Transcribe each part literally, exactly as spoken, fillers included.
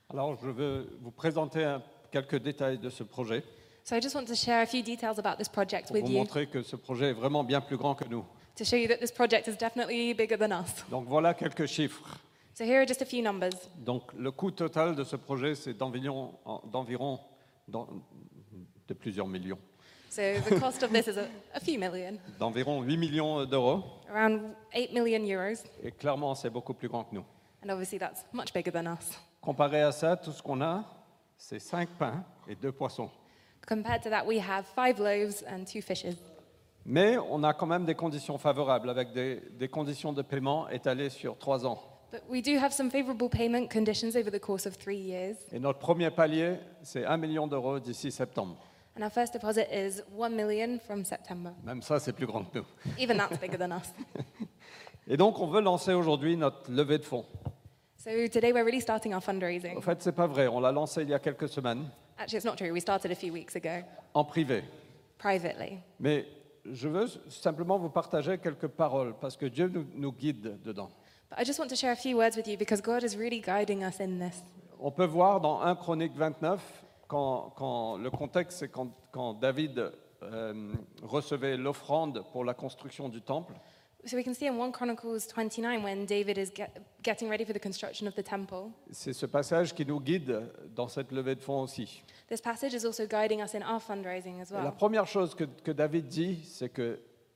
Alors, je veux vous présenter un- quelques détails de ce projet So I just want to share a few details about this project pour with vous you montrer que ce projet est vraiment bien plus grand que nous. to show you that this project is definitely bigger than us. Donc, voilà quelques chiffres. So here are just a few numbers. Donc, le coût total de ce projet, c'est d'environ, en- d'environ d'en- de plusieurs millions, So the cost of this is a, a few million, d'environ huit millions d'euros. around eight million euros, Et clairement, c'est beaucoup plus grand que nous. and obviously that's much bigger than us. Comparé à ça, tout ce qu'on a, c'est cinq pains et deux poissons. Compared to that, we have five loaves and two fishes. Mais on a quand même des conditions favorables, avec des, des conditions de paiement étalées sur trois ans. But we do have some favorable payment conditions over the course of three years. Et notre premier palier, c'est un million d'euros d'ici septembre. And our first deposit is one million from September. Même ça, c'est plus grand que nous. Even that's bigger than us. Et donc, on veut lancer aujourd'hui notre levée de fonds. So today we're really starting our En fundraising. fait, c'est pas vrai. On l'a lancé il y a quelques semaines, Actually, it's not true. We started a few weeks ago, en privé. privately. Mais je veux simplement vous partager quelques paroles, parce que Dieu nous, nous guide dedans. But I just want to share a few words with you because God is really guiding us in this. On peut voir dans un Chronique vingt-neuf, quand, quand le contexte, c'est quand, quand David euh, recevait l'offrande pour la construction du temple. So we can see in First Chronicles twenty-nine when David is get, getting ready for the construction of the temple. C'est ce passage qui nous guide dans cette levée de fonds aussi. This passage is also guiding us in our fundraising as Et la well. première chose que, que David dit, c'est que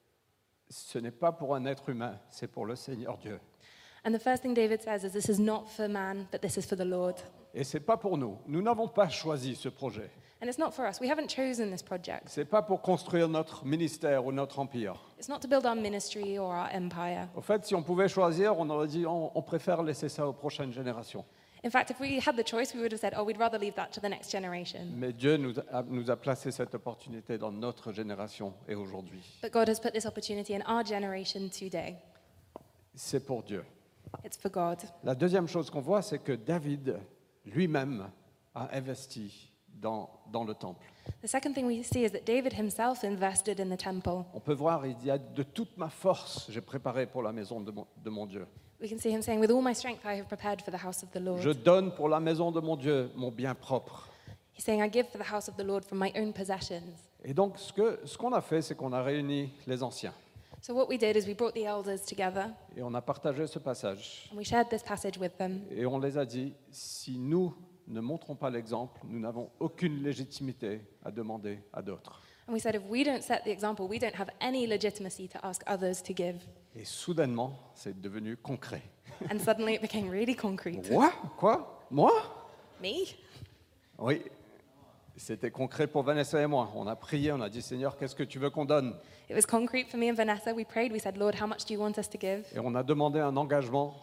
ce n'est pas pour un être humain, c'est pour le Seigneur Dieu. And the first thing David says is, this is not for man, but this is for the Lord. Et ce n'est pas pour nous. Nous n'avons pas choisi ce projet. And it's not for us. We haven't chosen this project. Ce n'est pas pour construire notre ministère ou notre empire. It's not to build our ministry or our empire. Au fait, si on pouvait choisir, on aurait dit on, on préfère laisser ça aux prochaines générations. In fact, if we had the choice, we would have said, oh, we'd rather leave that to the next generation. Mais Dieu nous a, nous a placé cette opportunité dans notre génération et aujourd'hui. But God has put this opportunity in our generation today. C'est pour Dieu. It's for God. La deuxième chose qu'on voit, c'est que David lui-même a investi dans, dans le temple. The second thing we see is that David himself invested in the temple. On peut voir, il dit, de toute ma force, j'ai préparé pour la maison de mon, de mon Dieu. We can see him saying, with all my strength, I have prepared for the house of the Lord. Je donne pour la maison de mon Dieu mon bien propre. He's saying, I give for the house of the Lord from my own possessions. Et donc, ce que, ce qu'on a fait, c'est qu'on a réuni les anciens So what we did is we brought the elders together et on a partagé ce passage. and we shared this passage with them. Et on les a dit, si nous ne montrons pas l'exemple, nous n'avons aucune légitimité à demander à d'autres. And we said, if we don't set the example, we don't have any legitimacy to ask others to give. Et soudainement, c'est devenu concret. And suddenly it became really concrete. Moi? Quoi? Moi? Me? Oui, c'était concret pour Vanessa et moi. On a prié, on a dit, Seigneur, qu'est-ce que tu veux qu'on donne? It was concrete for me and Vanessa. We prayed. We said, Lord, how much do you want us to give? Et on a demandé un engagement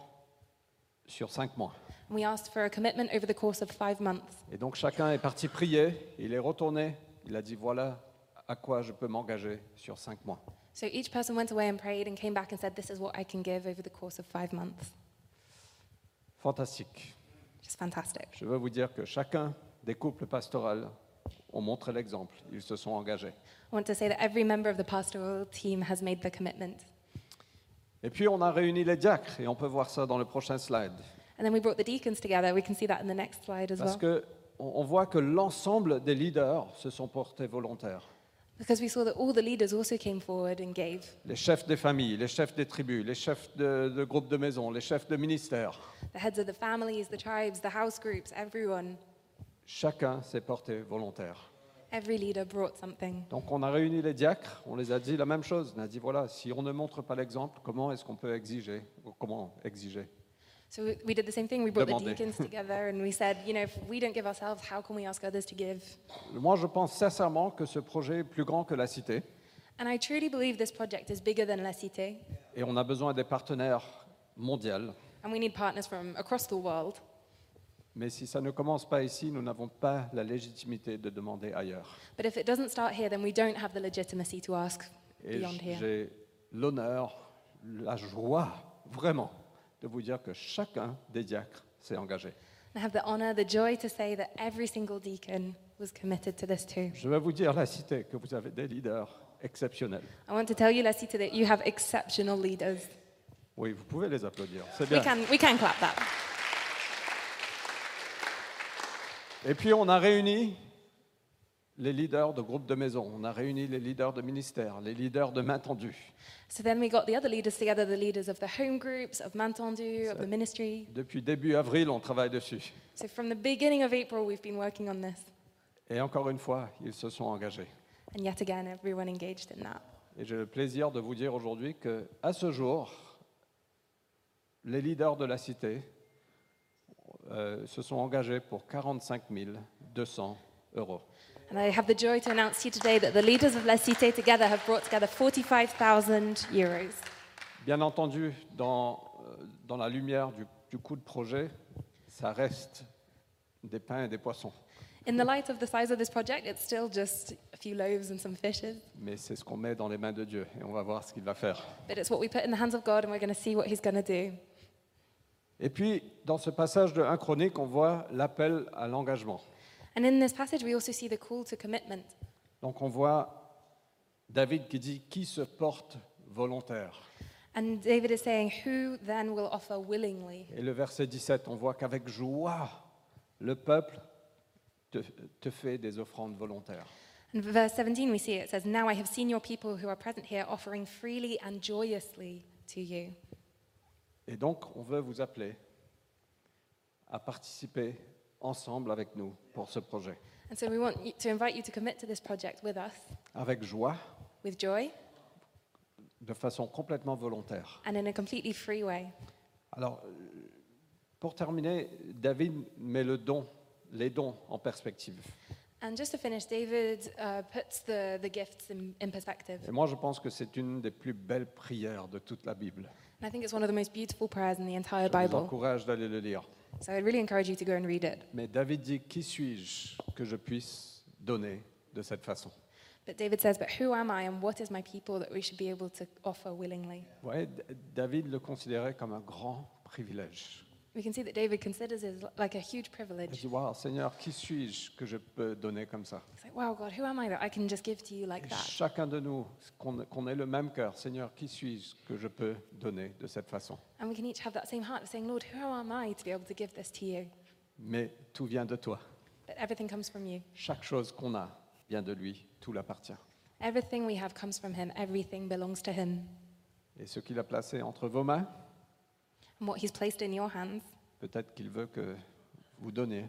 sur cinq mois. And we asked for a commitment over the course of five months. Et donc chacun est parti prier, il est retourné, il a dit, voilà à quoi je peux m'engager sur cinq mois. So each person went away and prayed and came back and said, this is what I can give over the course of five months. Fantastique. Just fantastic. Je veux vous dire que chacun des couples pastoraux ont montré l'exemple, ils se sont engagés. I want to say that every member of the pastoral team has made the commitment. Et puis on a réuni les diacres, et on peut voir ça dans le prochain slide. And then we brought the deacons together. We can see that in the next slide as Parce well. qu'on on voit que l'ensemble des leaders se sont portés volontaires. Because we saw that all the leaders also came forward and gave. Les chefs des familles, les chefs des tribus, les chefs de, de groupes de maison, les chefs de ministères, The heads of the families, the tribes, the house groups, everyone. chacun s'est porté volontaire. Every leader brought something. Donc on a réuni les diacres, on les a dit la même chose. On a dit voilà, si on ne montre pas l'exemple, comment est-ce qu'on peut exiger ou comment exiger? So we- we did the same thing. We brought the Demander. deacons together and we said, you know, if we don't give ourselves, how can we ask others to give? Moi, je pense sincèrement que ce projet est plus grand que la cité And I truly believe this project is bigger than La Cité. et on a besoin des partenaires mondiaux. And we need partners from across the world. Mais si ça ne commence pas ici, nous n'avons pas la légitimité de demander ailleurs. But if it doesn't start here, then we don't have the legitimacy to ask Et beyond here. j'ai l'honneur, la joie, vraiment, de vous dire que chacun des diacres s'est engagé. I have the honor, the joy to say that every single deacon was committed to this too. Je vais vous dire, la cité, que vous avez des leaders exceptionnels. I want to tell you, La Cité, that you have exceptional leaders. Oui, vous pouvez les applaudir, c'est We bien. can, we can clap that. Et puis on a réuni les leaders de groupes de maison, on a réuni les leaders de ministères, les leaders de main tendue. So then we got the other leaders together, the leaders of the home groups, of Mantendu, of the ministry. Depuis début avril, on travaille dessus. So from the beginning of April, we've been working on this. Et encore une fois, ils se sont engagés. And yet again, everyone engaged in that. Et j'ai le plaisir de vous dire aujourd'hui qu'à ce jour, les leaders de la cité euh, se sont engagés pour quarante-cinq mille deux cents euros. And I have the joy to announce to you today that the leaders of La Cité together have brought together forty-five thousand euros. Bien entendu, dans, euh, dans la lumière du, du coût de projet, ça reste des pains et des poissons. In the light of the size of this project, it's still just a few loaves and some fishes. Mais c'est ce qu'on met dans les mains de Dieu et on va voir ce qu'il va faire. But it's what we put in the hands of God, and we're going to see what He's going to do. Et puis, dans ce passage de un Chronique, on voit l'appel à l'engagement. And in this passage, we also see the call to commitment. Donc on voit David qui dit « Qui se porte volontaire ?» And David is saying, "Who then will offer willingly?" Et le verset dix-sept, on voit qu'avec joie, le peuple te, te fait des offrandes volontaires. In verse seventeen, we see it says, "Now I have seen your people who are present here offering freely and joyously to you." Et donc, on veut vous appeler à participer ensemble avec nous pour ce projet. And so we want you, to invite you to commit to this project with us, Avec joie, with joy, de façon complètement volontaire. and in a completely free way. Alors, euh, pour terminer, David met le don, les dons en perspective. And just to finish, David uh, puts the, the gifts in, in perspective. Et moi, je pense que c'est une des plus belles prières de toute la Bible. And I think it's one of the most beautiful prayers in the entire Je vous Bible. encourage d'aller le lire. So I'd really encourage you to go and read it. Mais David dit, qui suis-je que je puisse donner de cette façon? But David says, "But who am I and what is my people that we should be able to offer willingly?" Vous voyez, D- David le considérait comme un grand privilège. We can see that David considers it like a huge Il privilege. dit, waouh, Seigneur, qui suis-je que je peux donner comme ça? It's like, wow, God, who am I that I can just give to you like Et that? chacun de nous, qu'on qu'on ait le même cœur, Seigneur, qui suis-je que je peux donner de cette façon? And we can each have that same heart of saying, Lord, who am I to be able to give this to you? Mais tout vient de toi. But everything comes from you. Chaque chose qu'on a vient de lui, tout l'appartient. Everything we have comes from him. Everything belongs to him. Et ce qu'il a placé entre vos mains, And what he's placed in your hands, peut-être qu'il veut que vous donniez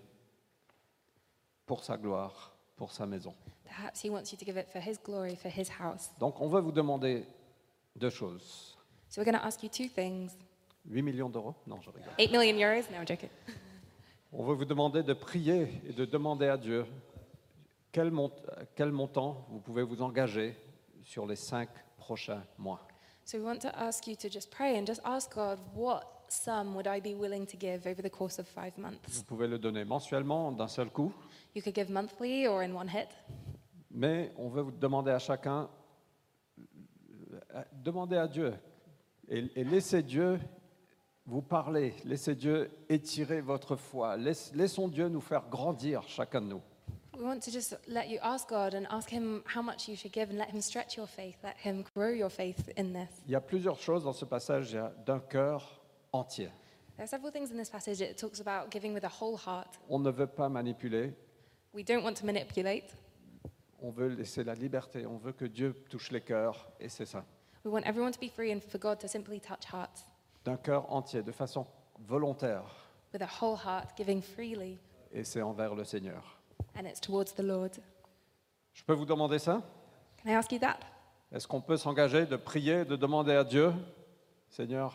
pour sa gloire, pour sa maison. perhaps he wants you to give it for his glory, for his house. Donc on veut vous demander deux choses. So we're going to ask you two things. huit millions d'euros? Non, je rigole. Eight million euros? No, I'm joking. On veut vous demander de prier et de demander à Dieu quel, mont- quel montant vous pouvez vous engager sur les cinq prochains mois. So we want to ask you to just pray and just ask God, what sum would I be willing to give over the course of five months? Vous pouvez le donner mensuellement d'un seul coup, You could give monthly or in one hit. mais on veut vous demander à chacun, euh, demandez à Dieu et, et laissez Dieu vous parler, laissez Dieu étirer votre foi, Laisse- laissons Dieu nous faire grandir chacun de nous. We want to just let you ask God and ask him how much you should give and let him stretch your faith, let him grow your faith in this. Il y a plusieurs choses dans ce passage, il y a d'un cœur entier. There are several things in this passage. It talks about giving with a whole heart. On ne veut pas manipuler, We don't want to manipulate. on veut laisser la liberté, on veut que Dieu touche les cœurs, et c'est ça. We want everyone to be free and for God to simply touch hearts D'un cœur entier, de façon volontaire, with a whole heart, giving freely, et c'est envers le Seigneur. and it's towards the Lord. Je peux vous demander ça? Can I ask you that? Est-ce qu'on peut s'engager de prier, de demander à Dieu, Seigneur,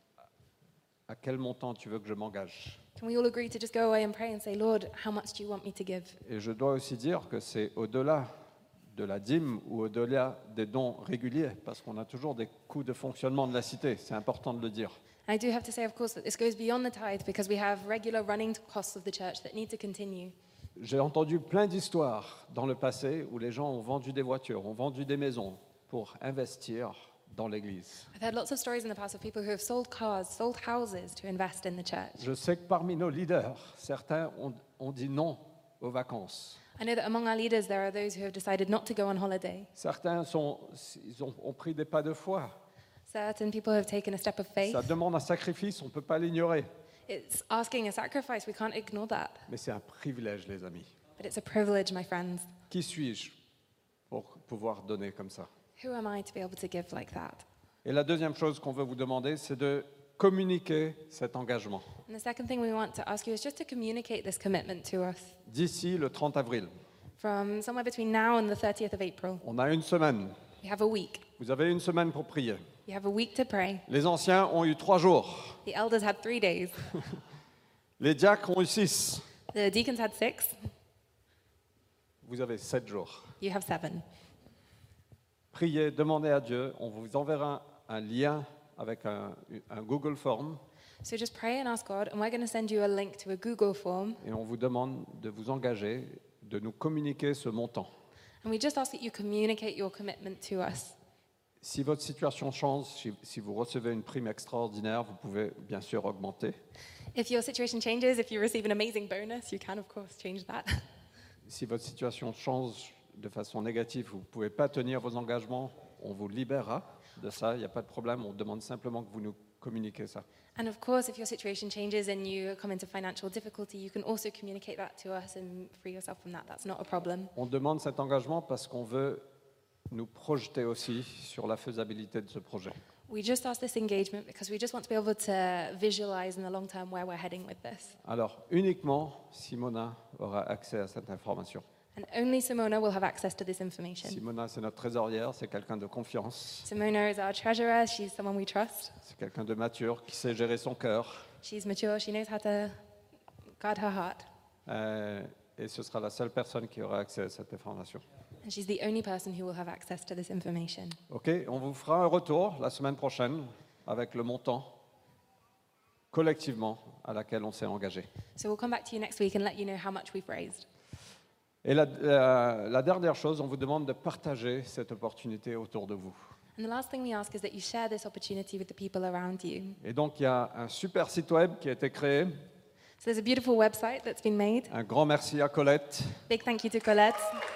à quel montant tu veux que je m'engage? Can we all agree to just go away and pray and say, Lord, how much do you want me to give? Et je dois aussi dire que c'est au-delà de la dîme ou au-delà des dons réguliers, parce qu'on a toujours des coûts de fonctionnement de la cité, c'est important de le dire. I do have to say, of course, that this goes beyond the tithe because we have regular running costs of the church that need to continue. J'ai entendu plein d'histoires dans le passé où les gens ont vendu des voitures, ont vendu des maisons pour investir dans l'Église. I've heard lots of stories in the past of people who have sold cars, sold houses to invest in the church. Je sais que parmi nos leaders, certains ont, ont dit non aux vacances. I know that among our leaders, there are those who have decided not to go on holiday. Certains sont, ils ont, ont pris des pas de foi. Certain people have taken a step of faith. Ça demande un sacrifice, on ne peut pas l'ignorer. It's asking a sacrifice. We can't ignore that. Mais c'est un privilège, les amis. But it's a privilege, my friends. Qui suis-je pour pouvoir donner comme ça? Who am I to be able to give like that? Et la deuxième chose qu'on veut vous demander, c'est de communiquer cet engagement. And the second thing we want to ask you is just to communicate this commitment to us. D'ici le trente avril, From somewhere between now and the thirtieth of April, on a une semaine. we have a week. Vous avez une semaine pour prier. You have a week to pray. Les anciens ont eu trois jours. The elders had three days. Les diacres ont eu six. The deacons had six. Vous avez sept jours. You have seven. Priez, demandez à Dieu. On vous enverra un, un lien avec un, un Google Form So just pray and ask God, and we're going to send you a link to a Google form. et on vous demande de vous engager, de nous communiquer ce montant. And we just ask that you communicate your commitment to us. Si votre situation change, si, si vous recevez une prime extraordinaire, vous pouvez bien sûr augmenter. If your situation changes, if you receive an amazing bonus, you can, of course, change that. Si votre situation change de façon négative, vous ne pouvez pas tenir vos engagements, on vous libérera de ça, il n'y a pas de problème, on demande simplement que vous nous communiquez ça. And of course, if your situation changes and you come into financial difficulty, you can also communicate that to us and free yourself from that. That's not a problem. On demande cet engagement parce qu'on veut nous projeter aussi sur la faisabilité de ce projet. We just ask this engagement because we just want to be able to visualize in the long term where we're heading with this. Alors, uniquement Simona aura accès à cette information. And only Simona will have access to this information. Simona, c'est notre trésorière, c'est quelqu'un de confiance, Simona is our treasurer. She's someone we trust. c'est quelqu'un de mature qui sait gérer son cœur. She's mature. She knows how to guard her heart. Euh, et ce sera la seule personne qui aura accès à cette information. And she's the only person who will have access to this information. OK, on vous fera un retour la semaine prochaine avec le montant collectivement à laquelle on s'est engagé. So we'll come back to you next week and let you know how much we've raised. Et la, la- la dernière chose, on vous demande de partager cette opportunité autour de vous. And the last thing we ask is that you share this opportunity with the people around you. Et donc, il y a un super site web qui a été créé. So there's a beautiful website that's been made. Un grand merci à Colette. Big thank you to Colette.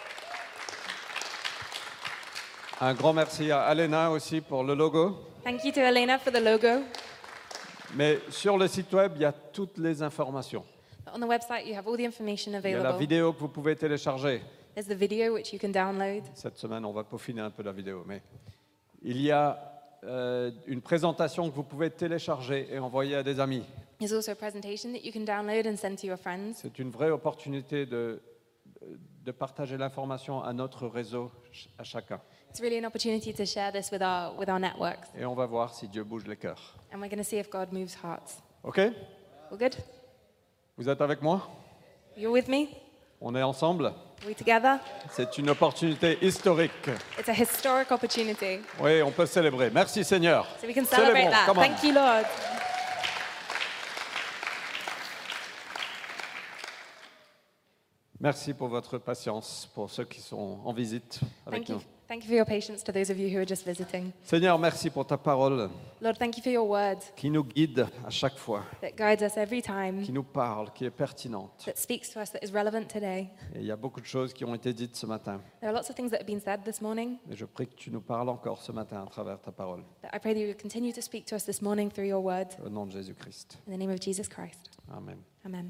Un grand merci à Alena aussi pour le logo. Thank you to Elena for the logo. Mais sur le site web, il y a toutes les informations. But on the website, you have all the information Il y a la available. vidéo que vous pouvez télécharger. There's the video which you can download. Cette semaine, on va peaufiner un peu la vidéo. Mais il y a euh, une présentation que vous pouvez télécharger et envoyer à des amis. There's also a presentation that you can download and send to your friends. C'est une vraie opportunité de, de partager l'information à notre réseau, ch- à chacun. It's really an opportunity to share this with our, with our networks. Et on va voir si Dieu bouge les cœurs. And we're going to see if God moves hearts. OK? All good? Vous êtes avec moi? You're with me? On est ensemble? Are we together? C'est une opportunité historique. It's a historic opportunity. Oui, on peut célébrer. Merci Seigneur. So we can celebrate Célébrons, that. come on. Thank you, Lord. Merci pour votre patience, pour ceux qui sont en visite avec Thank you. nous. Thank you for your patience to those of you who are just visiting. Seigneur, merci pour ta parole Lord, thank you for your word qui nous guide à chaque fois, that guides us every time, qui nous parle, qui est pertinente. that speaks to us, that is relevant today. Et il y a beaucoup de choses qui ont été dites ce matin. There are lots of things that have been said this morning, Et je prie que tu nous parles encore ce matin à travers ta parole. that I pray that you will continue to speak to us this morning through your word. Au nom de Jésus-Christ. In the name of Jesus Christ. Amen. Amen.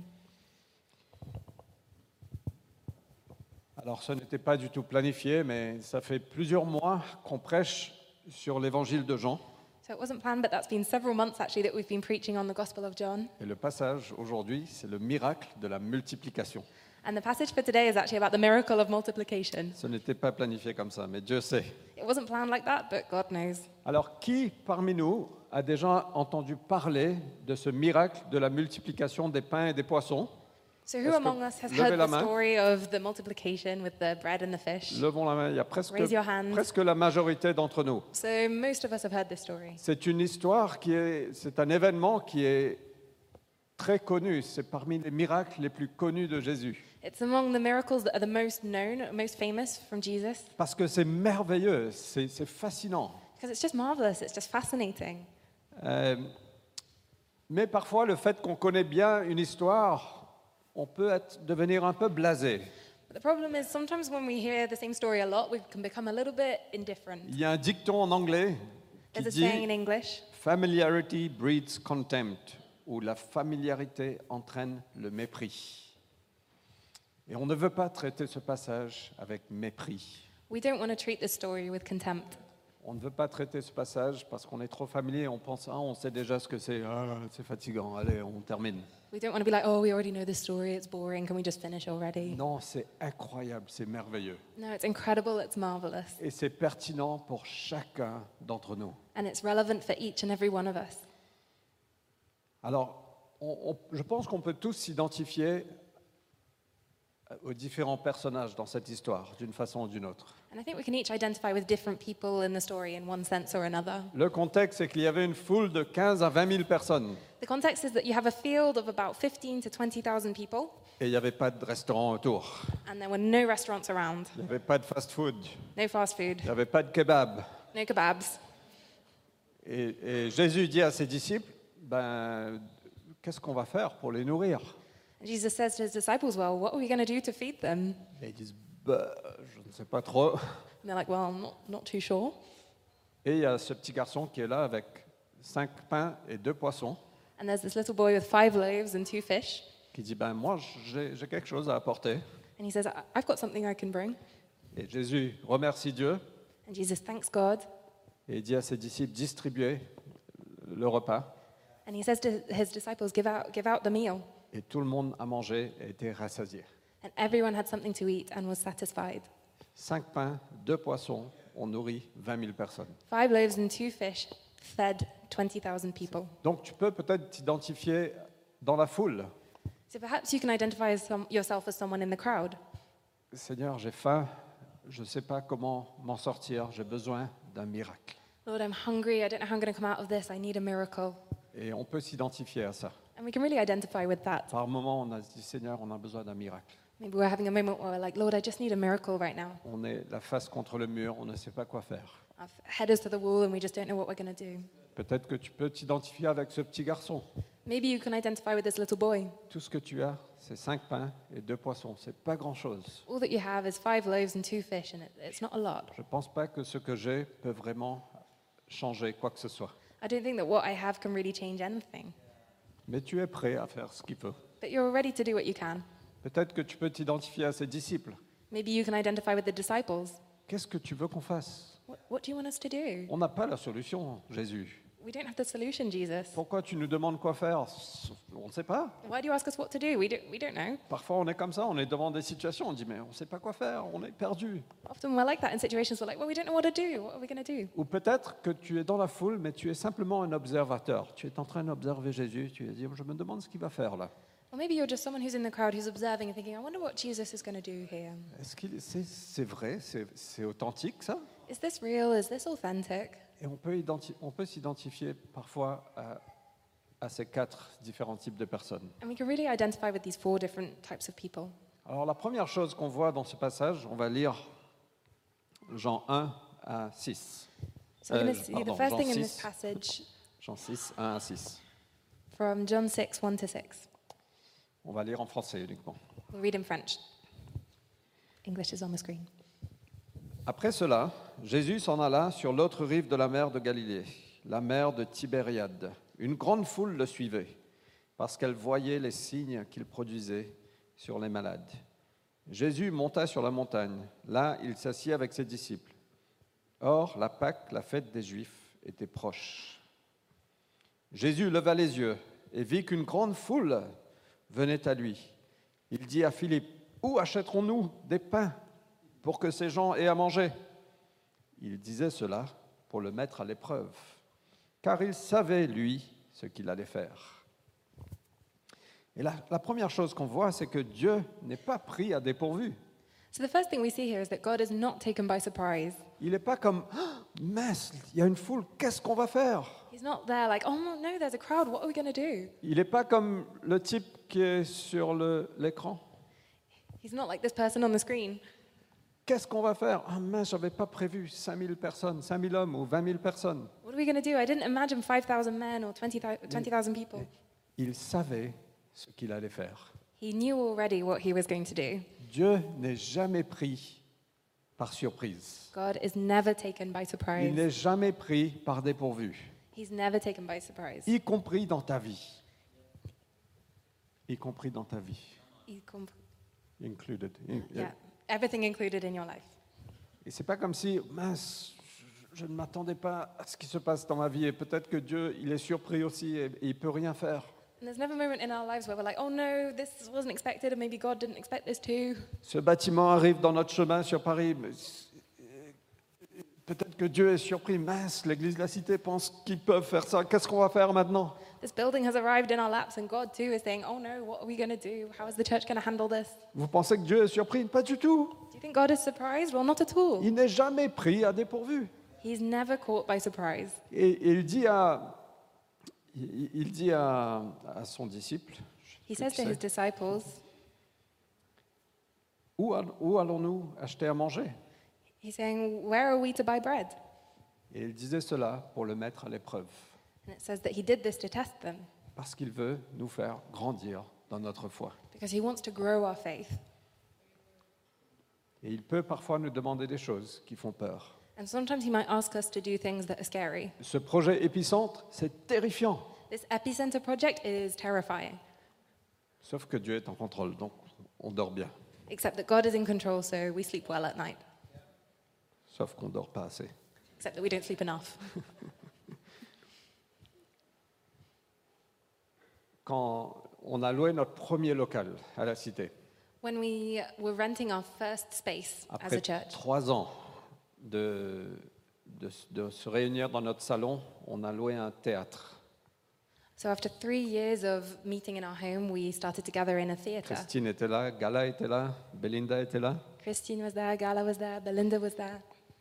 Alors, ce n'était pas du tout planifié, mais ça fait plusieurs mois qu'on prêche sur l'évangile de Jean. So it wasn't planned, but that's been several months actually that we've been preaching on the Gospel of John. Et le passage aujourd'hui, c'est le miracle de la multiplication. And the passage for today is actually about the miracle of multiplication. Ce n'était pas planifié comme ça, mais Dieu sait. It wasn't planned like that, but God knows. Alors, qui parmi nous a déjà entendu parler de ce miracle de la multiplication des pains et des poissons? So Est-ce who que- among us has levez heard la the main. story of the multiplication with the bread and the fish? Levons la main, il y a presque, Raise your hand. presque la majorité d'entre nous. So most of us have heard this story. C'est une histoire qui est, c'est un événement qui est très connu. C'est parmi les miracles les plus connus de Jésus. It's among the miracles that are the most known, most famous from Jesus, Parce que c'est merveilleux, c'est, c'est fascinant. because it's just marvelous, it's just fascinating. Euh, mais parfois, le fait qu'on connaît bien une histoire, on peut être, devenir un peu blasé. But the problem is sometimes when we hear the same story a lot, we can become a little bit indifferent. Il y a un dicton en anglais qui There's a saying in dit English, « Familiarity breeds contempt ». où la familiarité entraîne le mépris. Et on ne veut pas traiter ce passage avec mépris. We don't want to treat this story with contempt. On ne veut pas traiter ce passage parce qu'on est trop familier, on pense, ah, on sait déjà ce que c'est, ah, c'est fatigant, allez, on termine. We don't want to be like, oh, we already know this story, it's boring, can we just finish already? Non, c'est incroyable, c'est merveilleux. No, it's incredible, it's marvelous. Et c'est pertinent pour chacun d'entre nous. And it's relevant for each and every one of us. Alors, on- on- je pense qu'on peut tous s'identifier aux différents personnages dans cette histoire, d'une façon ou d'une autre. And I think we can each identify with different people in the story in one sense or another. Le contexte, c'est qu'il y avait une foule de quinze à vingt mille personnes The context is that you have a field of about fifteen to twenty thousand people, et il n'y avait pas de restaurant autour, and there were no restaurants around, il n'y avait pas de fast-food, no fast food, il n'y avait pas de kebab. no kebabs. Et, et Jésus dit à ses disciples, ben, qu'est-ce qu'on va faire pour les nourrir? And Jesus says to his disciples, well, what are we going to do to feed them? Et ils disent, ben, je ne sais pas trop. And they're like, well, I'm not, not too sure. Et il y a ce petit garçon qui est là avec cinq pains et deux poissons, And there's this little boy with five loaves and two fish. qui dit, ben, moi, j'ai j'ai quelque chose à apporter. And he says, "I- I've got something I can bring." Et Jésus remercie Dieu And Jesus thanks God. et dit à ses disciples, distribuez le repas. And he says to his disciples, give out, give out the meal. Et tout le monde a mangé et été rassasié. And everyone had something to eat and was satisfied. Cinq pains, deux poissons, on nourrit vingt mille personnes. Five loaves and two fish fed twenty thousand people. Donc tu peux peut-être t'identifier dans la foule. So perhaps you can identify as some, yourself as someone in the crowd. Seigneur, j'ai faim, je ne sais pas comment m'en sortir, j'ai besoin d'un miracle. Lord, I'm hungry. I don't know how I'm going to come out of this. I need a miracle. Et on peut s'identifier à ça. And we can really identify with that. Par moment, on a dit, Seigneur, on a besoin d'un miracle. Maybe we're having a moment where we're like, Lord, I just need a miracle right now. On est la face contre le mur, on ne sait pas quoi faire. Our head is to the wall and we just don't know what we're going to do. Peut-être que tu peux t'identifier avec ce petit garçon. Maybe you can identify with this little boy. Tout ce que tu as, c'est cinq pains et deux poissons. C'est pas grand-chose. All that you have is five loaves and two fish, and it, it's not a lot. Je ne pense pas que ce que j'ai peut vraiment changer quoi que ce soit. I don't think that what I have can really change anything. Mais tu es prêt à faire ce qu'il faut. But you're ready to do what you can. Peut-être que tu peux t'identifier à ses disciples. Maybe you can identify with the disciples. Qu'est-ce que tu veux qu'on fasse? What, what do you want us to do? On n'a pas la solution, Jésus. We don't have the solution, Jesus. Pourquoi tu nous demandes quoi faire? On ne sait pas. Why do you ask us what to do? We don't, we don't know. Parfois, on est comme ça, on est devant des situations, on dit, mais on ne sait pas quoi faire, on est perdu. Often we're like that in situations we're like, well, we don't know what to do. What are we going to do? Ou peut-être que tu es dans la foule, mais tu es simplement un observateur. Tu es en train d'observer Jésus, tu es dit, je me demande ce qu'il va faire là. Or maybe you're just someone who's in the crowd who's observing and thinking, I wonder what Jesus is going to do here. Est-ce que c'est c'est vrai, c'est c'est authentique ça? Is this real? Is this authentic? Et on peut, identi- on peut s'identifier parfois à, à ces quatre différents types de personnes. And we can really identify with these four different types of people. Alors la première chose qu'on voit dans ce passage, on va lire Jean un à six. So we're going Euh, to see pardon, the first Jean thing in this six. passage Jean six, un à six. from John six, one to six. On va lire en français uniquement. We'll read in French. English is on the screen. Après cela, Jésus s'en alla sur l'autre rive de la mer de Galilée, la mer de Tibériade. Une grande foule le suivait, parce qu'elle voyait les signes qu'il produisait sur les malades. Jésus monta sur la montagne. Là, il s'assit avec ses disciples. Or, la Pâque, la fête des Juifs, était proche. Jésus leva les yeux et vit qu'une grande foule venait à lui. Il dit à Philippe, « Où achèterons-nous des pains pour que ces gens aient à manger ?» Il disait cela pour le mettre à l'épreuve, car il savait, lui, ce qu'il allait faire. Et la, la première chose qu'on voit, c'est que Dieu n'est pas pris à dépourvu. So the first thing we see here is that God is not taken by surprise. Il n'est pas comme ah, « mince, il y a une foule, qu'est-ce qu'on va faire ?» He's not there like, oh no, no, there's a crowd, what are we going to do? Il n'est pas comme le type qui est sur le- l'écran. He's not like this person on the screen. Qu'est-ce qu'on va faire? Ah mince, je n'avais pas prévu cinq mille personnes, cinq mille hommes ou vingt mille personnes. What are we going to do? I didn't imagine five thousand men or twenty thousand people. Il savait ce qu'il allait faire. He knew already what he was going to do. Dieu n'est jamais pris par surprise. God is never taken by Il surprise. n'est jamais pris par dépourvu, He's never taken by surprise, y compris dans ta vie. y compris dans ta vie. y comp- Included. yeah, everything included in your life. Et c'est pas comme si, mince, je, je ne m'attendais pas à ce qui se passe dans ma vie et peut-être que Dieu, il est surpris aussi et, et il peut rien faire. And there's never a moment in our lives where we're like, oh no, this wasn't expected, or maybe God didn't expect this too. Ce bâtiment arrive dans notre chemin sur Paris. Mais peut-être que Dieu est surpris. Mince, l'Église de la Cité pense qu'ils peuvent faire ça. Qu'est-ce qu'on va faire maintenant? This building has arrived in our laps, and God too is saying, oh no, what are we going to do? How is the church going to handle this? Vous pensez que Dieu est surpris? Pas du tout. Do you think God is surprised? Well, not at all. Il n'est jamais pris à dépourvu. He's never caught by surprise. Et, et il dit à, il, il dit à, à son disciple, He je sais says to qui his c'est, disciples, où, all- où allons-nous acheter à manger? he's saying, where are we to buy bread? Et il disait cela pour le mettre à l'épreuve, And it says that he did this to test them, parce qu'il veut nous faire grandir dans notre foi. because he wants to grow our faith. Et il peut parfois nous demander des choses qui font peur. And sometimes he might ask us to do things that are scary. Ce projet épicentre, c'est terrifiant, This epicenter project is terrifying, sauf que Dieu est en contrôle, donc on dort bien, except that God is in control, so we sleep well at night, sauf qu'on dort pas assez. except that we don't sleep enough. Quand on a loué notre premier local à la Cité, When we were renting our first space as après a church, trois ans de, de, de se réunir dans notre salon, on a loué un théâtre. so after three years of meeting in our home, we started to gather in a theatre. Christine était là, Gala était là, Belinda était là. Christine was there, Gala was there, Belinda was there.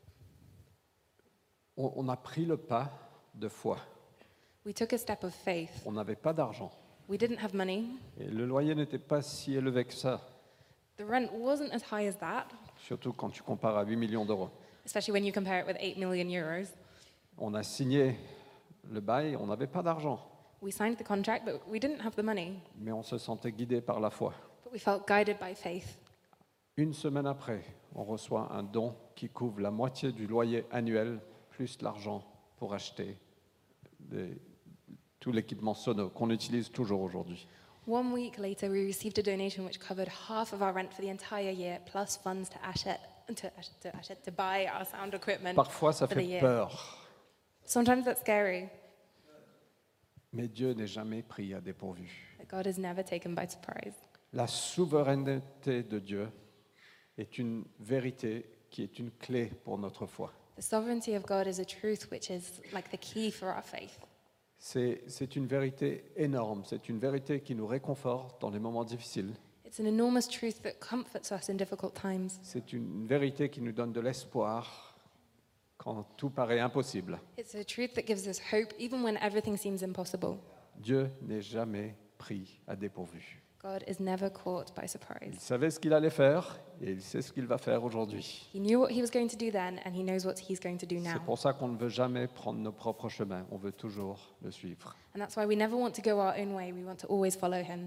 On, on a pris le pas de foi. We took a step of faith. On n'avait pas d'argent. We didn't have money. Et le loyer n'était pas si élevé que ça, The rent wasn't as high as that, surtout quand tu compares à huit millions d'euros. especially when you compare it with eight million euros. On a signé le bail, on n'avait pas d'argent, We signed the contract, but we didn't have the money. mais on se sentait guidé par la foi. But we felt guided by faith. Une semaine après, on reçoit un don qui couvre la moitié du loyer annuel, plus l'argent pour acheter des- tout l'équipement sono qu'on utilise toujours aujourd'hui. One week later, we received a donation which covered half of our rent for the entire year, plus funds to Ashet, to, Ashet, to, Ashet, to buy our sound equipment. Parfois, ça for the fait year. peur, Sometimes that's scary, mais Dieu n'est jamais pris à dépourvu. but God is never taken by surprise. La souveraineté de Dieu est une vérité qui est une clé pour notre foi. The sovereignty of God is a truth which is like the key for our faith. C'est c'est une vérité énorme, c'est une vérité qui nous réconforte dans les moments difficiles. It's an enormous truth that comforts us in difficult times. C'est une vérité qui nous donne de l'espoir quand tout paraît impossible. It's a truth that gives us hope even when everything seems impossible. Dieu n'est jamais pris à dépourvu. God is never caught by Il surprise. savait ce qu'il allait faire et il sait ce qu'il va faire aujourd'hui. He knew what he was going to do then, and he knows what he's going to do C'est now. pour ça qu'on ne veut jamais prendre nos propres chemins, on veut toujours le suivre. And that's why we never want to go our own way. We want to always follow him.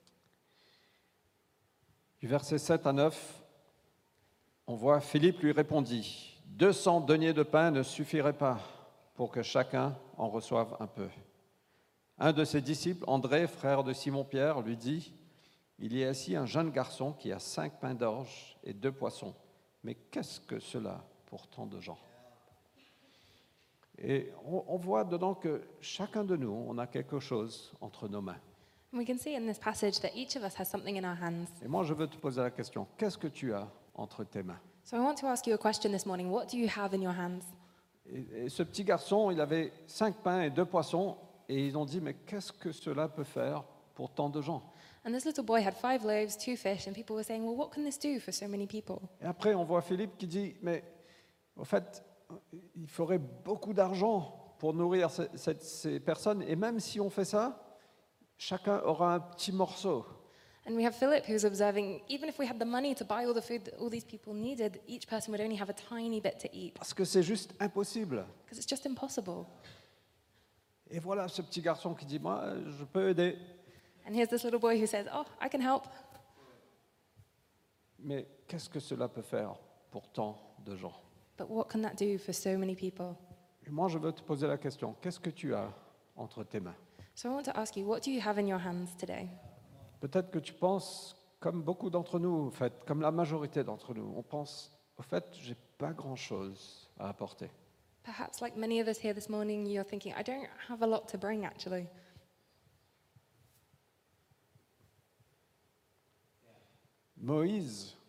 Du verset sept à neuf, on voit Philippe lui répondit, deux cents deniers de pain ne suffiraient pas pour que chacun en reçoive un peu. Un de ses disciples, André, frère de Simon-Pierre, lui dit, il y a ici un jeune garçon qui a cinq pains d'orge et deux poissons. Mais qu'est-ce que cela pour tant de gens? Et on, on voit dedans que chacun de nous, on a quelque chose entre nos mains. And we can see in this passage that each of us has something in our hands. Et moi, je veux te poser la question, qu'est-ce que tu as entre tes mains? So I want to ask you a question this morning. What do you have in your hands? Et, et ce petit garçon, il avait cinq pains et deux poissons, et ils ont dit, mais qu'est-ce que cela peut faire pour tant de gens? And this little boy had five loaves, two fish, and people were saying, well, what can this do for so many people? Et après, on voit Philippe qui dit, mais en fait, il faudrait beaucoup d'argent pour nourrir ce- cette- ces personnes, et même si on fait ça, chacun aura un petit morceau. And we have Philip who's observing, even if we had the money to buy all the food that all these people needed, each person would only have a tiny bit to eat, Parce que c'est juste impossible. because it's just impossible. Et voilà ce petit garçon qui dit, moi, je peux aider. And here's this little boy who says, oh, I can help. Mais qu'est-ce que cela peut faire pour tant de gens? But what can that do for so many people? Et moi, je veux te poser la question, qu'est-ce que tu as entre tes mains? So I want to ask you, what do you have in your hands today? Peut-être que tu penses, comme beaucoup d'entre nous, en fait, comme la majorité d'entre nous, on pense, au fait, j'ai pas grand-chose à apporter. Perhaps, like many of us here this morning, you're thinking, I don't have a lot to bring actually. Moïse,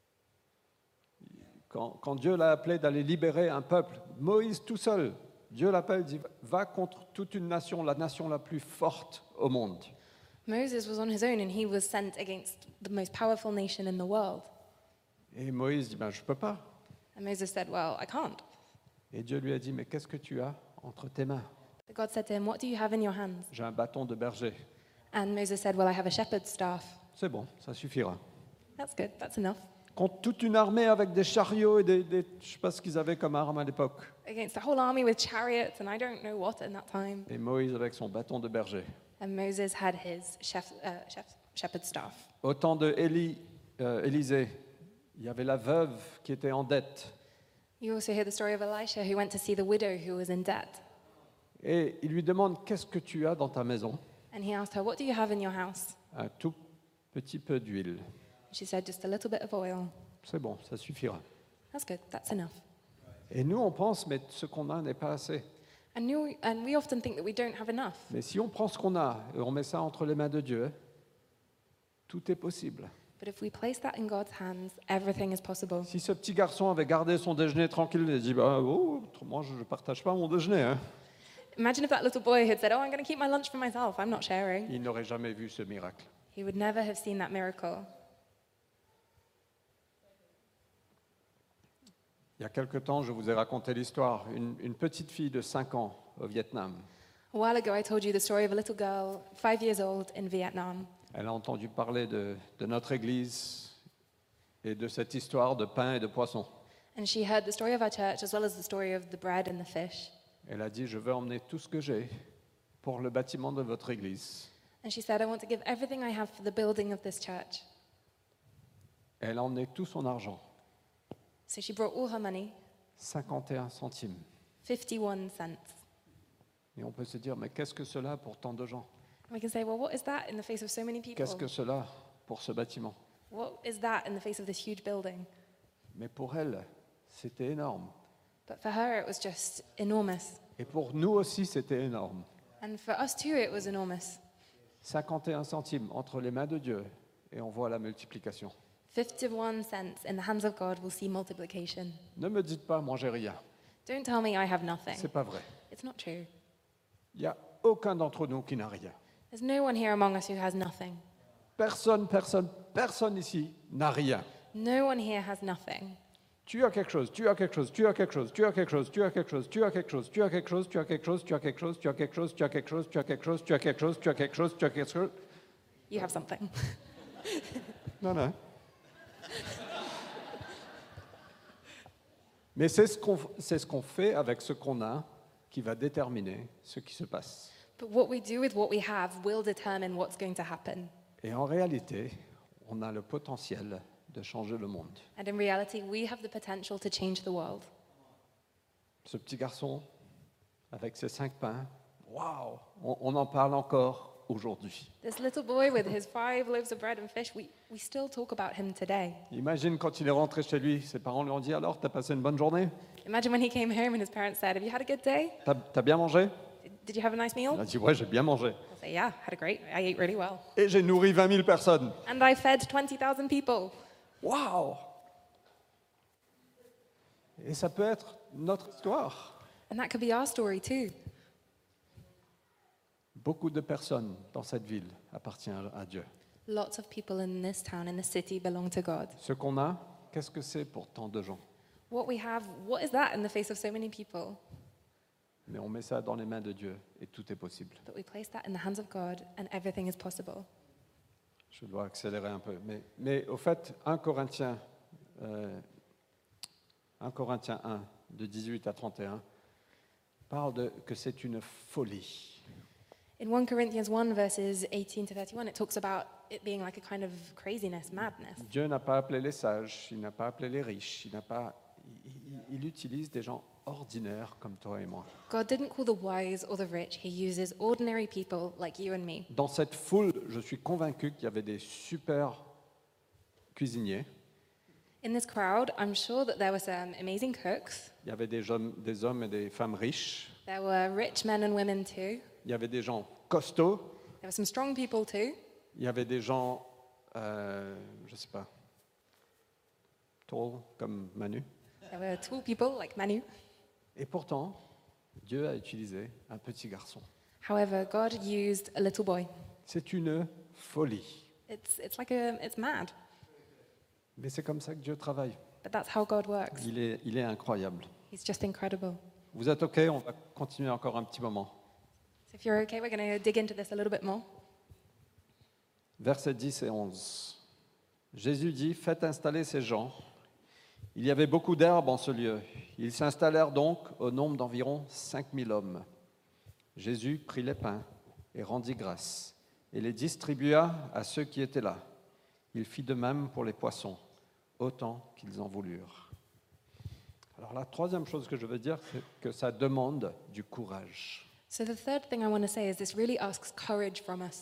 quand, quand Dieu l'a appelé d'aller libérer un peuple, Moïse tout seul, Dieu l'appelle, dit, va contre toute une nation, la nation la plus forte au monde. Moses was on his own and he was sent against the most powerful nation in the world. Et Moïse dit, ben, je ne peux pas. And Moses said, well, I can't. Et Dieu lui a dit, mais qu'est-ce que tu as entre tes mains? But God said to him, what do you have in your hands? J'ai un bâton de berger. And Moses said, well, I have a shepherd's staff. C'est bon, ça suffira. That's good, that's enough. Contre toute une armée avec des chariots et des, des je ne sais pas ce qu'ils avaient comme armes à l'époque. Against the whole army with chariots and I don't know what in that time. Et Moïse avec son bâton de berger. And Moses had his chef, uh, chef, shepherd's staff. Au temps de Élie, euh, Élisée, il y avait la veuve qui était en dette. You also hear the story of Elisha who went to see the widow who was in debt. Et il lui demande, qu'est-ce que tu as dans ta maison? And he asked her, what do you have in your house? Un tout petit peu d'huile. She said, just a little bit of oil. C'est bon, ça suffira. That's good, that's enough. Et nous, on pense, mais ce qu'on a n'est pas assez. And, you, and we often think that we don't have enough. Mais si on prend ce qu'on a et on met ça entre les mains de Dieu, tout est possible. But if we place that in God's hands, everything is possible. Si ce petit garçon avait gardé son déjeuner tranquille et dit, bah, oh, moi je ne partage pas mon déjeuner, hein, Imagine if that little boy had said, oh, I'm going to keep my lunch for myself, I'm not sharing. il n'aurait jamais vu ce miracle. He would never have seen that miracle. Il y a quelque temps, je vous ai raconté l'histoire, une, une petite fille de cinq ans au Vietnam. A while ago, I told you the story of a little girl, five years old, in Vietnam. Elle a entendu parler de, de notre Église et de cette histoire de pain et de poisson. And she heard the story of our church as well as the story of the bread and the fish. Elle a dit, je veux emmener tout ce que j'ai pour le bâtiment de votre Église. And she said, I want to give everything I have for the building of this church. Elle a emmené tout son argent, So she brought all her money, cinquante et un centimes. fifty-one cents. Et on peut se dire, mais qu'est-ce que cela pour tant de gens? And we can say, well, what is that in the face of so many people? Qu'est-ce que cela pour ce bâtiment? What is that in the face of this huge building? Mais pour elle, c'était énorme. But for her, it was just enormous. Et pour nous aussi, c'était énorme. And for us too, it was enormous. cinquante et un centimes entre les mains de Dieu, et on voit la multiplication. fifty-one cents in the hands of God will see multiplication. Ne me dites pas, moi j'ai rien. Don't tell me I have nothing. C'est pas vrai. It's not true. Il n'y a aucun d'entre nous qui n'a rien. There's no one here among us who has nothing. Personne, personne, personne ici n'a rien. No one here has nothing. Tu as quelque chose, tu as quelque chose, tu as quelque chose, tu as quelque chose, tu as quelque chose, tu as quelque chose, tu as quelque chose, tu as quelque chose, tu as quelque chose, tu as quelque chose, tu as quelque chose, tu as quelque chose, tu as quelque chose, tu as quelque chose, tu as quelque chose. You have something. Non, non. Mais c'est ce qu'on c'est ce qu'on fait avec ce qu'on a qui va déterminer ce qui se passe. But what we do with what we have will determine what's going to happen. Et en réalité, on a le potentiel de changer le monde. And in reality, we have the potential to change the world. Ce petit garçon, avec ses cinq pains, waouh, on, on en parle encore aujourd'hui. This little boy with his five loaves of bread and fish, we, we still talk about him today. Imagine quand il est rentré chez lui, ses parents lui ont dit, alors, t'as passé une bonne journée? Imagine when he came home and his parents said, have you had a good day? T'as, t'as bien mangé? Did, did you have a nice Il meal? a dit, ouais, j'ai bien mangé. He'll say, yeah, had a great, I ate really well. Et j'ai nourri vingt mille personnes. And I fed twenty thousand people. Waouh! Et ça peut être notre histoire. And that could be our story too. Beaucoup de personnes dans cette ville appartiennent à Dieu. Lots of people in this town, in this city, belong to God. Ce qu'on a, qu'est-ce que c'est pour tant de gens? What we have, what is that in the face of so many people? Mais on met ça dans les mains de Dieu et tout est possible. But we place that in the hands of God and everything is possible. Je dois accélérer un peu. Mais, mais au fait, un Corinthiens, euh, un Corinthiens un, de dix-huit à trente et un, parle de que c'est une folie. In First Corinthians one, verses eighteen to thirty-one, it talks about it being like a kind of craziness, madness. Dieu n'a pas appelé les sages, il n'a pas appelé les riches, il n'a pas, il, il- il utilise des gens ordinaires comme toi et moi. God didn't call the wise or the rich, he uses ordinary people like you and me. Dans cette foule, je suis convaincu qu'il y avait des super cuisiniers, In this crowd, I'm sure that there were some amazing cooks. il y avait des hommes, des hommes et des femmes riches, There were rich men and women too. il y avait des gens costauds, There were some strong people too. il y avait des gens, euh, je ne sais pas, tall comme Manu. There were tall people like Manu. Et pourtant, Dieu a utilisé un petit garçon. However, God used a little boy. C'est une folie. It's, it's like a, it's mad, Mais c'est comme ça que Dieu travaille. but that's how God works. Il est, il est incroyable. He's just incredible. Vous êtes OK? On va continuer encore un petit moment. So if you're okay, we're going to dig into this a little bit more. Versets dix et onze. Jésus dit, faites installer ces gens. Il y avait beaucoup d'herbes en ce lieu. Ils s'installèrent donc au nombre d'environ cinq mille hommes. Jésus prit les pains et rendit grâce et les distribua à ceux qui étaient là. Il fit de même pour les poissons, autant qu'ils en voulurent. Alors la troisième chose que je veux dire, c'est que ça demande du courage. So the third thing I want to say is this really asks courage from us.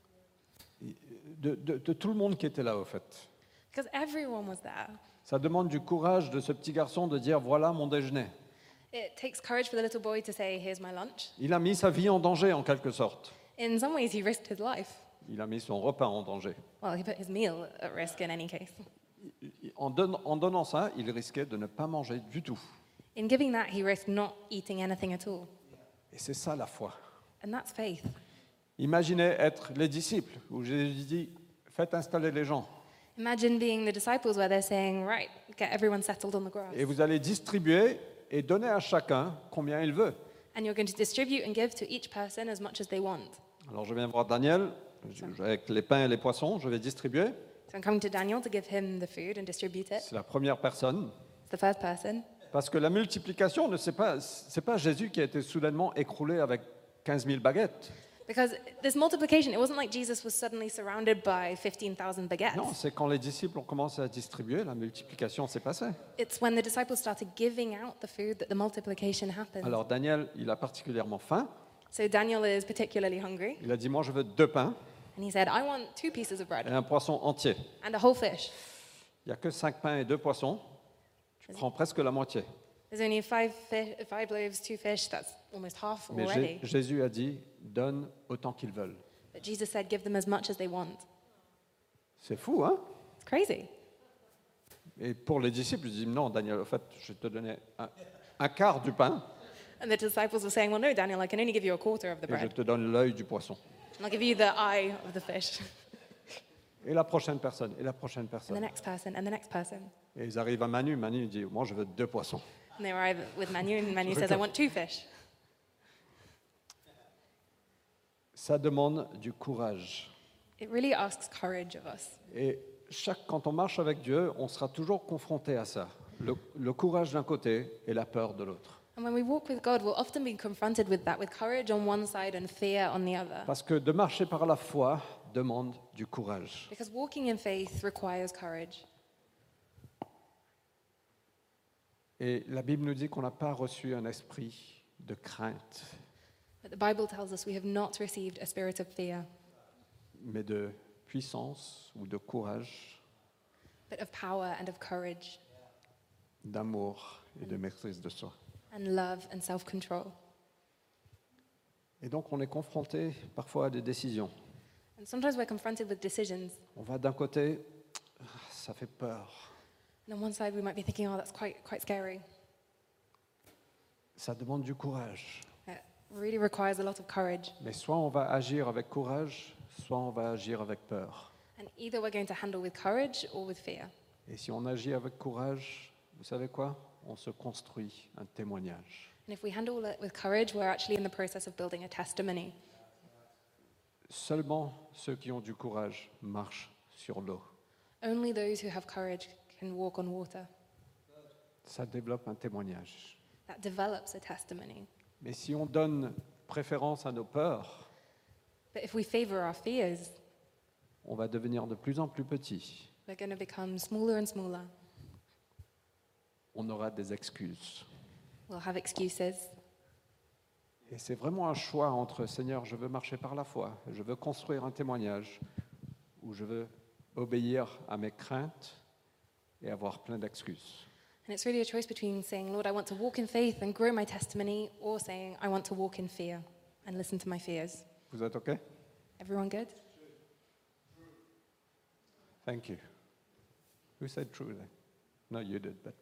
De, de- de tout le monde qui était là, au fait. Because everyone was there. Ça demande du courage de ce petit garçon de dire, voilà mon déjeuner. It takes courage for the little boy to say, here's my lunch. Il a mis sa vie en danger, en quelque sorte. In some ways, he risked his life. Il a mis son repas en danger. Well, he put his meal at risk in any case. En, don- en donnant ça, il risquait de ne pas manger du tout. In giving that, he risked not eating anything at all. Et c'est ça la foi. And that's faith. Imaginez être les disciples, où Jésus dit, faites installer les gens. Imagine being the disciples where they're saying, right, get everyone settled on the grass. Et vous allez distribuer et donner à chacun combien il veut. And you're going to distribute and give to each person as much as they want. Alors je viens voir Daniel, je- avec les pains et les poissons, je vais distribuer. So I'm coming to Daniel to give him the food and distribute it. C'est la première personne. It's the first person. Parce que la multiplication, ne c'est pas, c'est pas Jésus qui a été soudainement écroulé avec quinze mille baguettes. Because this multiplication, it wasn't like Jesus was suddenly surrounded by fifteen thousand baguettes. Non, c'est quand les disciples ont commencé à distribuer, la multiplication s'est passée. It's when the disciples started giving out the food that the multiplication happened. Alors Daniel, il a particulièrement faim. So Daniel is particularly hungry, Il a dit, moi je veux deux pains and he said, I want two pieces of et bread un poisson entier. and a whole fish. Il n'y a que cinq pains et deux poissons. Tu prends presque la moitié. There's only five, fi- five loaves, two fish, that's almost half Mais Jé- already. Jésus a dit, donne autant qu'ils veulent. But Jesus said, give them as much as they want. C'est fou, hein? It's crazy. Et pour les disciples, ils disent, non, Daniel, en fait, je vais te donner un, un quart du pain And the disciples were saying, well, no, Daniel, I can only give you a quarter of the et je bread. te donne l'œil du poisson. And I'll give you the eye of the fish. Et la prochaine personne, et la prochaine And the personne. next person, and the next person. Et ils arrivent à Manu. Manu dit, moi je veux deux poissons. And they arrive with Manu, and Manu says, I want two fish. Ça demande du courage. It really asks courage of us. Et chaque, quand on marche avec Dieu, on sera toujours confronté à ça. Le, le courage d'un côté et la peur de l'autre. And when we walk with God, we'll often be confronted with that, with courage on one side and fear on the other. Parce que de marcher par la foi demande du courage. Because walking in faith requires courage. Et la Bible nous dit qu'on n'a pas reçu un esprit de crainte, But the Bible tells us we have not received a spirit of fear, mais de puissance ou de courage, but of power and of courage d'amour et de maîtrise de soi. and love and self-control. Et donc on est confronté parfois à des décisions. And sometimes we're confronted with decisions. On va d'un côté, ah, ça fait peur, And on one side, we might be thinking, oh, that's quite, quite scary. ça demande du courage. It really requires a lot of courage. Mais soit on va agir avec courage, soit on va agir avec peur. And either we're going to handle with courage or with fear. Et si on agit avec courage, vous savez quoi? On se construit un témoignage. And if we handle it with courage, we're actually in the process of building a testimony. Seulement ceux qui ont du courage marchent sur l'eau. Only those who have courage can walk on water. Ça développe un témoignage. That develops a testimony. Mais si on donne préférence à nos peurs, But if we favor our fears, on va devenir de plus en plus petit. we're going to become smaller and smaller. On aura des excuses. We'll have excuses. Et c'est vraiment un choix entre Seigneur, je veux marcher par la foi, je veux construire un témoignage, ou je veux obéir à mes craintes et avoir plein d'excuses. And it's really a choice between saying, Lord, I want to walk in faith and grow my testimony, or saying, I want to walk in fear and listen to my fears. Vous êtes OK? Everyone good? Thank you. Who said true then? No, you did, but...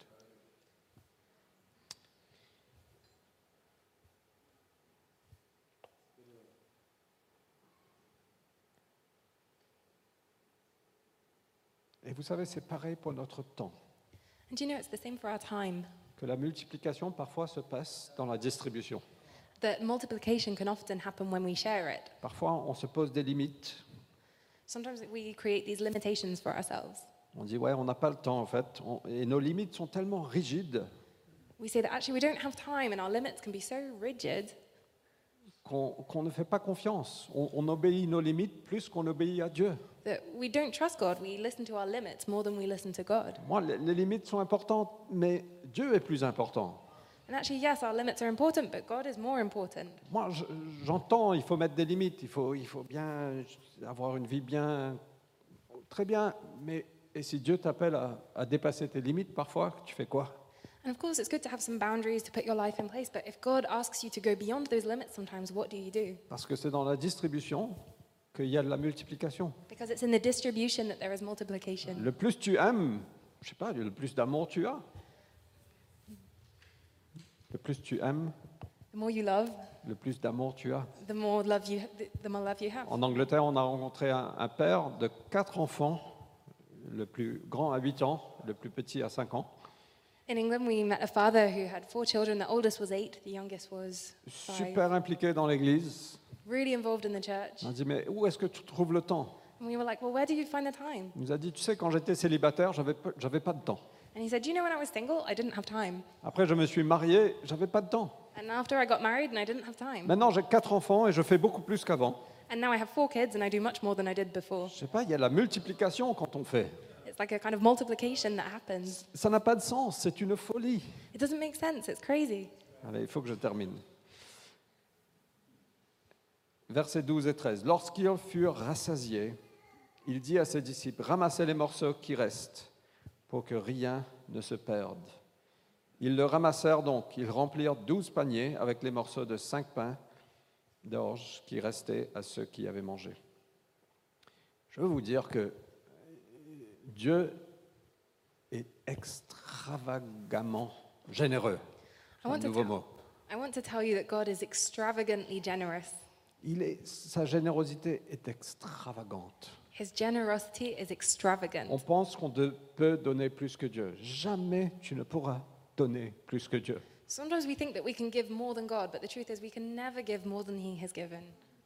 Et vous savez, c'est pareil pour notre temps. And do you know it's the same for our time? Que la multiplication parfois se passe dans la distribution. That multiplication can often happen when we share it. Parfois, on se pose des limites. Sometimes we create these limitations for ourselves. On dit, ouais, on n'a pas le temps en fait. On- et nos limites sont tellement rigides We say that actually we don't have time and our limits can be so rigid qu'on qu'on ne fait pas confiance. On, on obéit nos limites plus qu'on obéit à Dieu. that we don't trust God. We listen to our limits more than we listen to God. Moi, les, les limites sont importantes, mais Dieu est plus important. And actually, yes, our limits are important, but God is more important. Moi, je- j'entends, il faut mettre des limites, il faut, il faut bien avoir une vie bien, très bien, mais et si Dieu t'appelle à, à dépasser tes limites parfois, tu fais quoi? And of course, it's good to have some boundaries to put your life in place, but if God asks you to go beyond those limits sometimes, what do you do? Parce que c'est dans la distribution qu'il y a de la multiplication. Because it's in the distribution that there is multiplication. Le plus tu aimes, je sais pas, le plus d'amour tu as. Le plus tu aimes, The more you love, le plus d'amour tu as. the more love you, the, the more love you have. En Angleterre, on a rencontré un, un père de quatre enfants, le plus grand à huit ans, le plus petit à cinq ans. In England, we met a father who had four children. The oldest was eight, the youngest was five. Super impliqué dans l'église. Really involved in the church. On a dit, mais où est-ce que tu trouves le temps? And we were like, well, where do you find the time? Il nous a dit, tu sais, quand j'étais célibataire, j'avais pas- j'avais pas de temps. And he said, do you know, when I was single, I didn't have time. Après, je me suis marié, j'avais pas de temps. And after I got married, and I didn't have time. Maintenant, j'ai quatre enfants et je fais beaucoup plus qu'avant. And now I have four kids, and I do much more than I did before. Je sais pas, il y a la multiplication quand on fait. It's like a kind of multiplication that happens. Ça n'a pas de sens, c'est une folie. It doesn't make sense. It's crazy. Allez, il faut que je termine. Versets douze et treize. Lorsqu'ils furent rassasiés, il dit à ses disciples, ramassez les morceaux qui restent pour que rien ne se perde. Ils le ramassèrent donc. Ils remplirent douze paniers avec les morceaux de cinq pains d'orge qui restaient à ceux qui avaient mangé. Je veux vous dire que Dieu est extravagamment généreux. I want Un to nouveau tell- mot. I want to tell you that God is extravagantly generous. Il est, sa générosité est extravagante. His generosity is extravagant. On pense qu'on de- peut donner plus que Dieu. Jamais tu ne pourras donner plus que Dieu. Sometimes we think that we can give more than God, but the truth is we can never give more than He has given.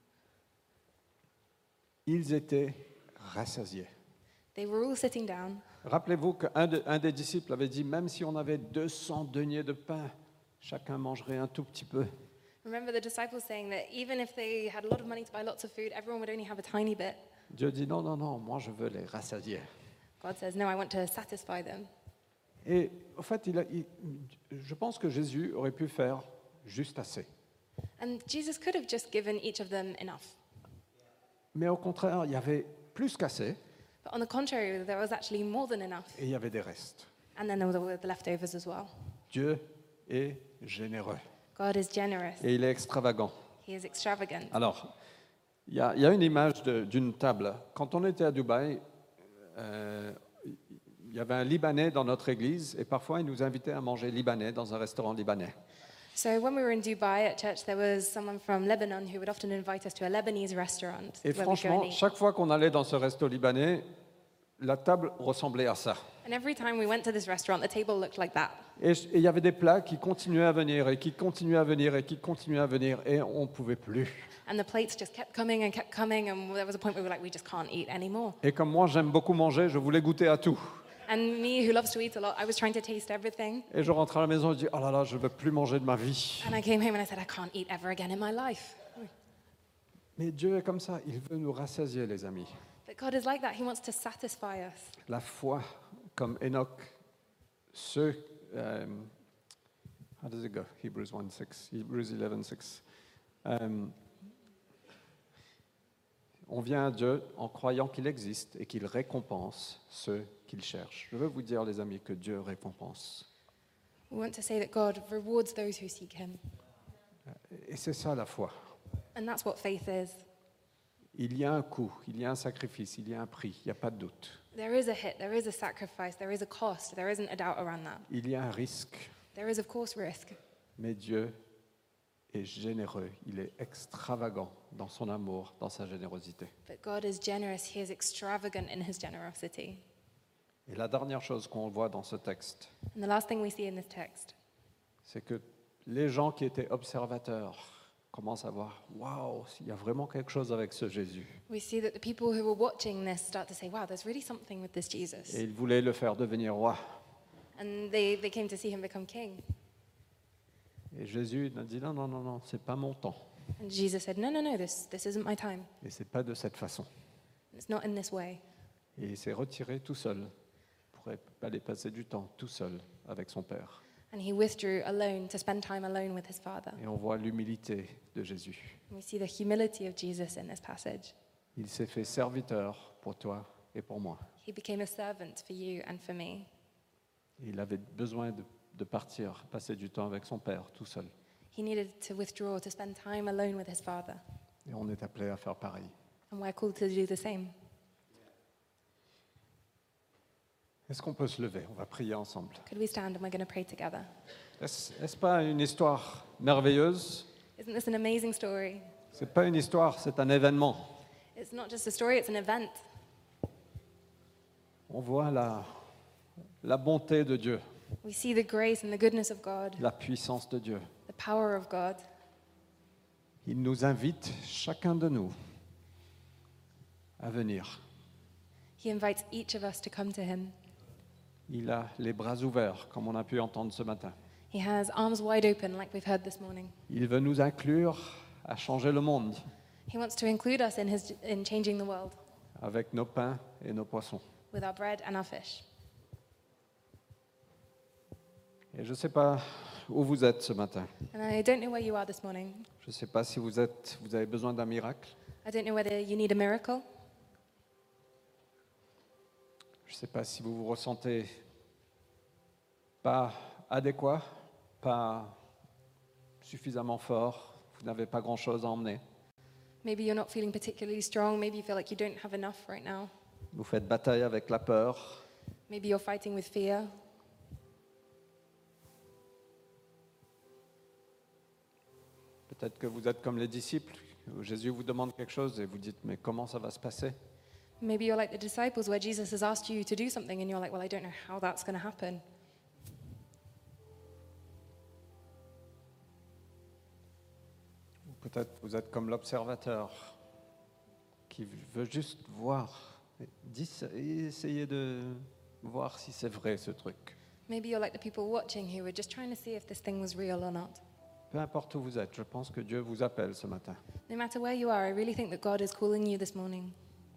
Ils étaient rassasiés. They were all sitting down. Rappelez-vous qu'un de- un des disciples avait dit, même si on avait deux cents deniers de pain, chacun mangerait un tout petit peu. Remember the disciples saying that even if they had a lot of money to buy lots of food, everyone would only have a tiny bit. Dieu dit, non, non, non, moi je veux les rassasier. God says, no, I want to satisfy them. Et en fait, il a- il- je pense que Jésus aurait pu faire juste assez. And Jesus could have just given each of them enough. Mais au contraire, il y avait plus qu'assez But on the contrary, there was actually more than enough. et il y avait des restes. And then there were the leftovers as well. Dieu est généreux God is generous. et il est extravagant. He is extravagant. Alors, il y, a il y a une image de- d'une table. Quand on était à Dubaï, euh, il y avait un Libanais dans notre église et parfois il nous invitait à manger libanais dans un restaurant libanais. So when we were in Dubai at church, there was someone from Lebanon who would often invite us to a Lebanese restaurant Et where we'd go and franchement, eat. chaque fois qu'on allait dans ce resto libanais, la table ressemblait à ça. And every time we went to this restaurant, the table looked like that. Et je- et il y avait des plats qui continuaient à venir et qui continuaient à venir et qui continuaient à venir et on ne pouvait plus. And the plates just kept coming and kept coming, and there was a point where we were like, we just can't eat anymore. Et comme moi j'aime beaucoup manger, je voulais goûter à tout. And me, who loves to eat a lot, I was trying to taste everything. Et je rentre à la maison et je dis, oh là là, je ne veux plus manger de ma vie. And I came home and I said, I can't eat ever again in my life. Mais Dieu est comme ça, il veut nous rassasier, les amis. But God is like that. He wants to satisfy us. La foi, comme Enoch, ceux, euh, How does it go? Hebrews one six, Hebrews eleven six. Euh, on vient à Dieu en croyant qu'il existe et qu'il récompense ceux qu'il cherche. Je veux vous dire, les amis, que Dieu récompense. We want to say that God rewards those who seek him. Et c'est ça la foi. And that's what faith is. Il y a un coût, il y a un sacrifice, il y a un prix, il n'y a pas de doute. There is a hit, there is a sacrifice, there is a cost, there isn't a doubt around that. Il y a un risque, There is, of course, risk. mais Dieu est généreux, il est extravagant dans son amour, dans sa générosité. But God is generous, he is extravagant in his generosity. Et la dernière chose qu'on voit dans ce texte, And the last thing we see in this text c'est que les gens qui étaient observateurs commencent à voir, waouh, il y a vraiment quelque chose avec ce Jésus. we see that the people who were watching this start to say, wow, there's really something with this Jesus. Et ils voulaient le faire devenir roi. And they, they came to see him become king. Et Jésus a dit, non, non, non, non, c'est pas mon temps. And Jesus said, no, no, no, this, this isn't my time. Et c'est pas de cette façon. It's not in this way. Et il s'est retiré tout seul pour aller passer du temps tout seul avec son Père. And he withdrew alone to spend time alone with his Father. Et on voit l'humilité de Jésus. And we see the humility of Jesus in this passage. Il s'est fait serviteur pour toi et pour moi. He became a servant for you and for me. Et il avait besoin de, de partir, passer du temps avec son Père tout seul. He needed to withdraw, to spend time alone with his Father. Et on est appelé à faire pareil. And we're called to do the same. Est-ce qu'on peut se lever? On va prier ensemble. Could we stand and we're going to pray together? Est-ce, est-ce pas une histoire merveilleuse? Isn't this an amazing story? C'est pas une histoire, c'est un événement. It's not just a story, it's an event. On voit la, la bonté de Dieu, We see the grace and the goodness of God, la puissance de Dieu. the power of God. Il nous invite, chacun de nous, à venir. He invites each of us to come to him. Il a les bras ouverts, comme on a pu entendre ce matin. He has arms wide open, like we've heard this morning. Il veut nous inclure à changer le monde He wants to include us in, his, in changing the world avec nos pains et nos poissons. with our bread and our fish. Et je ne sais pas où vous êtes ce matin. And I don't know where you are this morning. Je ne sais pas si vous, êtes, vous avez besoin d'un miracle. I don't know whether you need a miracle. Je ne sais pas si vous vous ressentez pas adéquat, pas suffisamment fort, vous n'avez pas grand-chose à emmener. Maybe you're not feeling particularly strong. Maybe you feel like you don't have enough right now. Vous faites bataille avec la peur. Maybe you're fighting with fear. Peut-être que vous êtes comme les disciples, où Jésus vous demande quelque chose et vous dites, mais comment ça va se passer? Maybe you're like the disciples where Jesus has asked you to do something and you're like, well, I don't know how that's going to happen. Ou peut-être vous êtes comme l'observateur qui veut juste voir, et essayer de voir si c'est vrai ce truc. Maybe you're like the people watching who were just trying to see if this thing was real or not. Peu importe où vous êtes, je pense que Dieu vous appelle ce matin. No matter where you are, I really think that God is calling you this morning.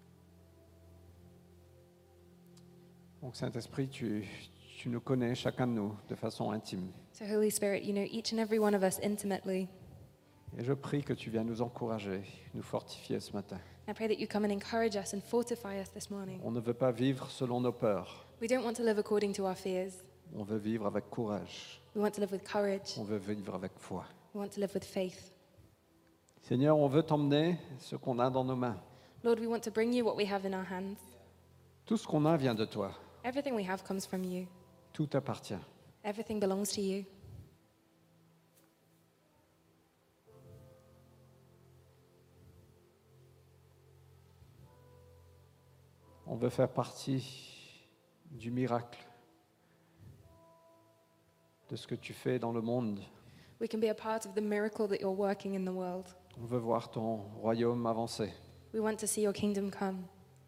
Donc Saint-Esprit, tu, tu nous connais, chacun de nous, de façon intime. So Holy Spirit, you know each and every one of us intimately. Et je prie que tu viennes nous encourager, nous fortifier ce matin. I pray that you come and encourage us and fortify us this morning. On ne veut pas vivre selon nos peurs. We don't want to live according to our fears. On veut vivre avec courage. We want to live with courage. On veut vivre avec foi. We want to live with faith. Seigneur, on veut t'emmener ce qu'on a dans nos mains. Lord, we want to bring you what we have in our hands. Tout ce qu'on a vient de toi. Everything we have comes from you. Tout appartient. Everything belongs to you. On veut faire partie du miracle, de ce que tu fais dans le monde. We can be a part of the miracle that you're working in the world. On veut voir ton royaume avancer. We want to see your kingdom come.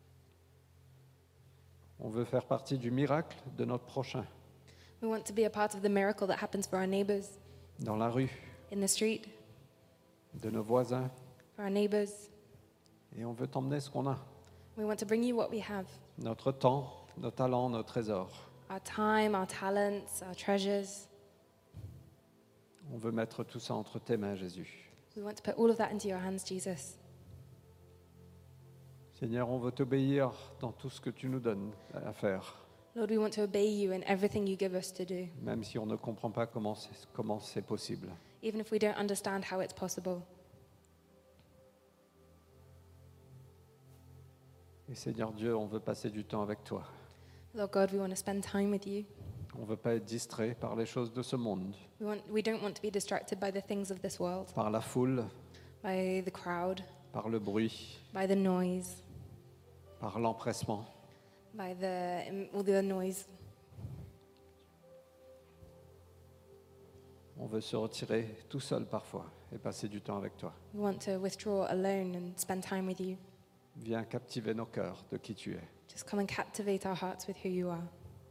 On veut faire partie du miracle de notre prochain, We want to be a part of the miracle that happens for our neighbors dans la rue, in the street, de nos voisins. for our neighbors. Et on veut t'emmener ce qu'on a. We want to bring you what we have. Notre temps, nos talents, nos trésors. Our time, our talents, our treasures. On veut mettre tout ça entre tes mains, Jésus. We want to put all of that into your hands, Jesus. Seigneur, on veut t'obéir dans tout ce que tu nous donnes à faire, Lord, we want to obey you in everything you give us to do, même si on ne comprend pas comment c'est, comment c'est possible. even if we don't understand how it's possible. Et Seigneur Dieu, on veut passer du temps avec toi. Lord God, we want to spend time with you. On ne veut pas être distrait par les choses de ce monde, We, want, we don't want to be distracted by the things of this world, par la foule, by the crowd, par le bruit, by the noise, par l'empressement. by the, um, all the noise. On veut se retirer tout seul parfois et passer du temps avec toi. We want to withdraw alone and spend time with you. Viens captiver nos cœurs de qui tu es. Just come and captivate our hearts with who you are.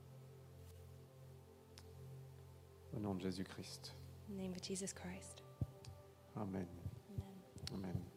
Au nom de Jésus-Christ. In the name of Jesus Christ. Amen. Amen. Amen.